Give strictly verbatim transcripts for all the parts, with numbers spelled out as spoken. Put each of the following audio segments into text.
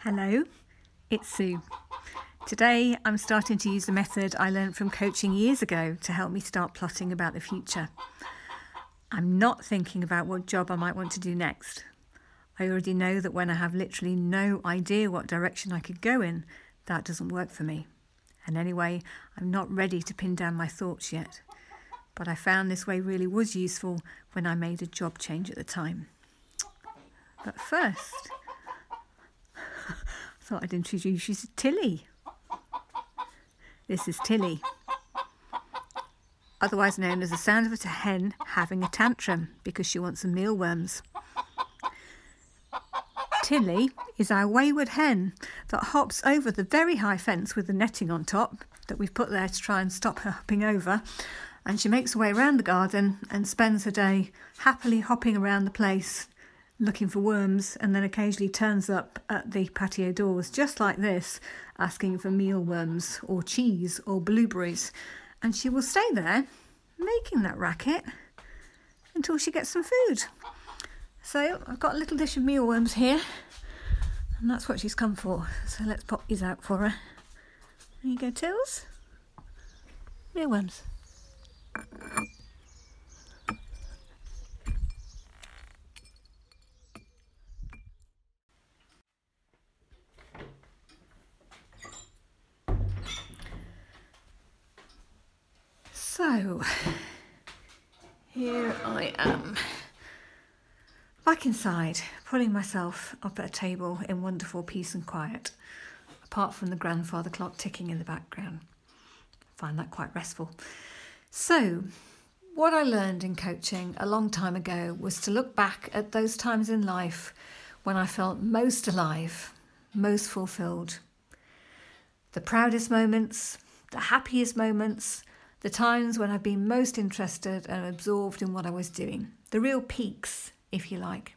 Hello, it's Sue. Today I'm starting to use the method I learned from coaching years ago to help me start plotting about the future. I'm not thinking about what job I might want to do next. I already know that when I have literally no idea what direction I could go in, that doesn't work for me. And anyway, I'm not ready to pin down my thoughts yet. But I found this way really was useful when I made a job change at the time. But first, I thought I'd introduce you to Tilly. This is Tilly, otherwise known as the sound of a hen having a tantrum because she wants some mealworms. Tilly is our wayward hen that hops over the very high fence with the netting on top that we've put there to try and stop her hopping over, and she makes her way around the garden and spends her day happily hopping around the place looking for worms, and then occasionally turns up at the patio doors just like this, asking for mealworms or cheese or blueberries, and she will stay there making that racket until she gets some food. So I've got a little dish of mealworms here, and that's what she's come for. So let's pop these out for her. There you go, Tills. Mealworms. So, here I am, back inside, pulling myself up at a table in wonderful peace and quiet, apart from the grandfather clock ticking in the background. I find that quite restful. So, what I learned in coaching a long time ago was to look back at those times in life when I felt most alive, most fulfilled. The proudest moments, the happiest moments, the times when I've been most interested and absorbed in what I was doing. The real peaks, if you like.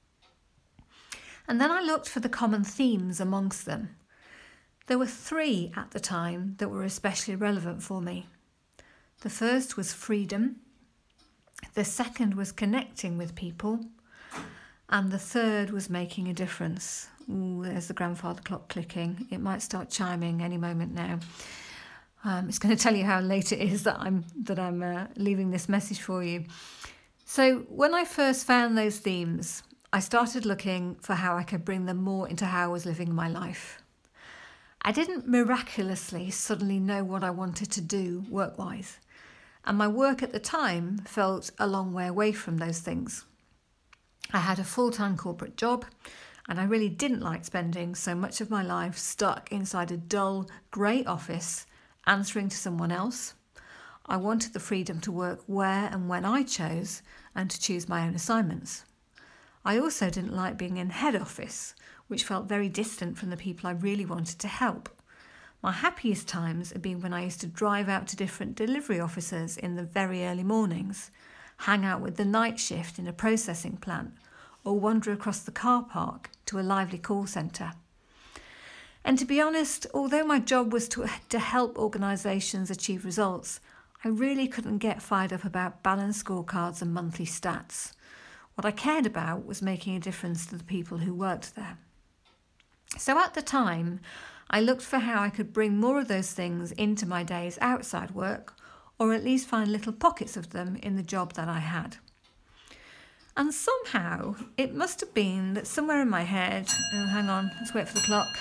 And then I looked for the common themes amongst them. There were three at the time that were especially relevant for me. The first was freedom. The second was connecting with people. And the third was making a difference. Ooh, there's the grandfather clock clicking. It might start chiming any moment now. Um, it's going to tell you how late it is that I'm that I'm uh, leaving this message for you. So when I first found those themes, I started looking for how I could bring them more into how I was living my life. I didn't miraculously suddenly know what I wanted to do work-wise, and my work at the time felt a long way away from those things. I had a full-time corporate job, and I really didn't like spending so much of my life stuck inside a dull, grey office answering to someone else. I wanted the freedom to work where and when I chose and to choose my own assignments. I also didn't like being in head office, which felt very distant from the people I really wanted to help. My happiest times have been when I used to drive out to different delivery offices in the very early mornings, hang out with the night shift in a processing plant, or wander across the car park to a lively call centre. And to be honest, although my job was to, to help organisations achieve results, I really couldn't get fired up about balanced scorecards and monthly stats. What I cared about was making a difference to the people who worked there. So at the time, I looked for how I could bring more of those things into my days outside work, or at least find little pockets of them in the job that I had. And somehow, it must have been that somewhere in my head, oh, hang on, let's wait for the clock.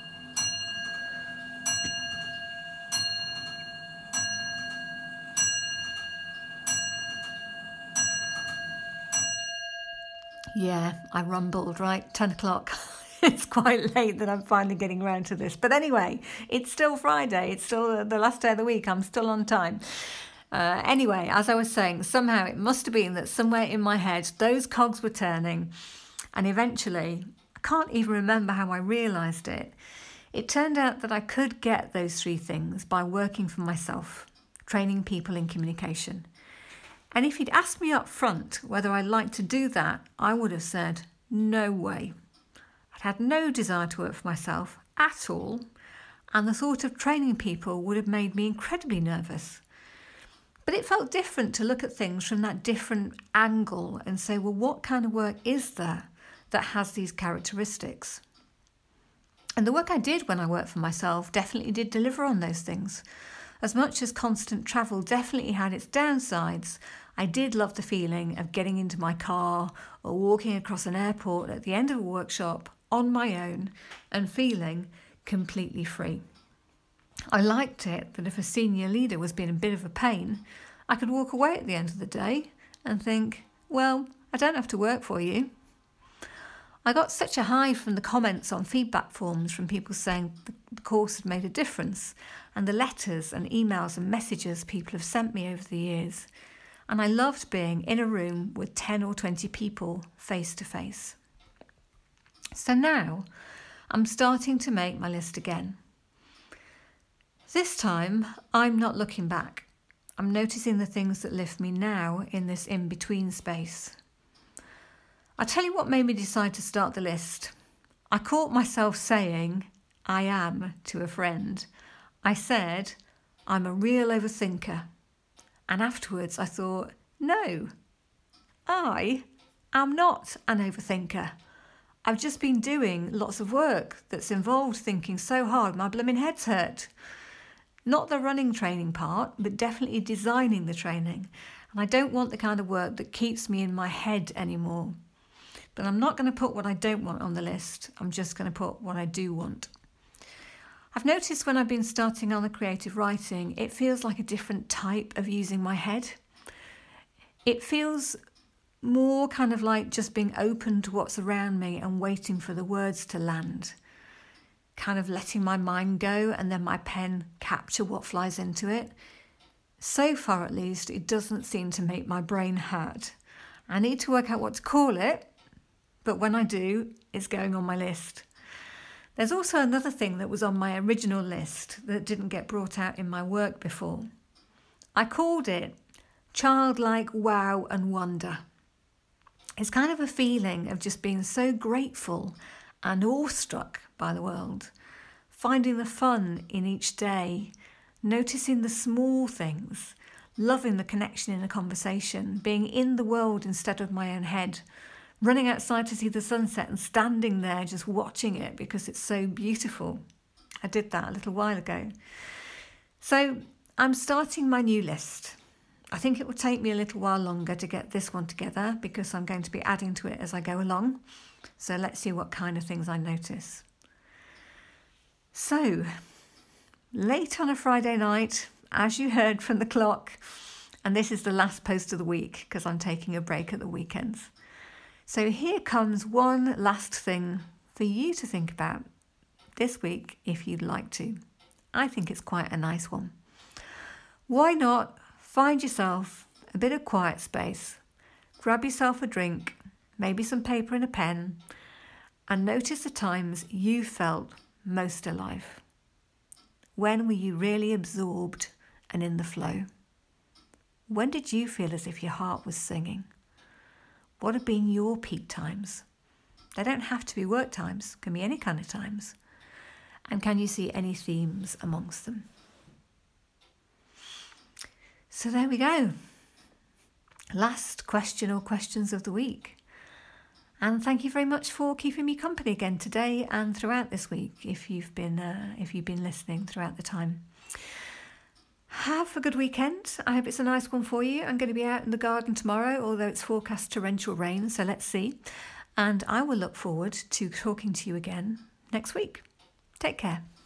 Yeah, I rumbled, right? ten o'clock. It's quite late that I'm finally getting around to this. But anyway, it's still Friday. It's still the last day of the week. I'm still on time. Uh, anyway, as I was saying, somehow it must have been that somewhere in my head, those cogs were turning. And eventually, I can't even remember how I realised it. It turned out that I could get those three things by working for myself, training people in communication. And if he'd asked me up front whether I'd like to do that, I would have said, no way. I'd had no desire to work for myself at all, and the thought of training people would have made me incredibly nervous. But it felt different to look at things from that different angle and say, well, what kind of work is there that has these characteristics? And the work I did when I worked for myself definitely did deliver on those things. As much as constant travel definitely had its downsides, I did love the feeling of getting into my car or walking across an airport at the end of a workshop on my own and feeling completely free. I liked it that if a senior leader was being a bit of a pain, I could walk away at the end of the day and think, well, I don't have to work for you. I got such a high from the comments on feedback forms from people saying the course had made a difference, and the letters and emails and messages people have sent me over the years. And I loved being in a room with ten or twenty people face to face. So now I'm starting to make my list again. This time I'm not looking back. I'm noticing the things that lift me now in this in-between space. I'll tell you what made me decide to start the list. I caught myself saying, I am, to a friend. I said, I'm a real overthinker. And afterwards I thought, no, I am not an overthinker. I've just been doing lots of work that's involved thinking so hard my blooming head's hurt. Not the running training part, but definitely designing the training. And I don't want the kind of work that keeps me in my head anymore. But I'm not going to put what I don't want on the list. I'm just going to put what I do want. I've noticed when I've been starting on the creative writing, it feels like a different type of using my head. It feels more kind of like just being open to what's around me and waiting for the words to land. Kind of letting my mind go and then my pen capture what flies into it. So far at least, it doesn't seem to make my brain hurt. I need to work out what to call it, but when I do, it's going on my list. There's also another thing that was on my original list that didn't get brought out in my work before. I called it Childlike Wow and Wonder. It's kind of a feeling of just being so grateful and awestruck by the world, finding the fun in each day, noticing the small things, loving the connection in a conversation, being in the world instead of my own head, running outside to see the sunset and standing there just watching it because it's so beautiful. I did that a little while ago. So I'm starting my new list. I think it will take me a little while longer to get this one together because I'm going to be adding to it as I go along. So let's see what kind of things I notice. So, late on a Friday night, as you heard from the clock, and this is the last post of the week because I'm taking a break at the weekends. So here comes one last thing for you to think about this week if you'd like to. I think it's quite a nice one. Why not find yourself a bit of quiet space, grab yourself a drink, maybe some paper and a pen, and notice the times you felt most alive. When were you really absorbed and in the flow? When did you feel as if your heart was singing? What have been your peak times? They don't have to be work times, can be any kind of times. And can you see any themes amongst them? So there we go. Last question or questions of the week. And thank you very much for keeping me company again today and throughout this week, if you've been uh, if you've been listening throughout the time. Have a good weekend. I hope it's a nice one for you. I'm going to be out in the garden tomorrow, although it's forecast torrential rain, so let's see. And I will look forward to talking to you again next week. Take care.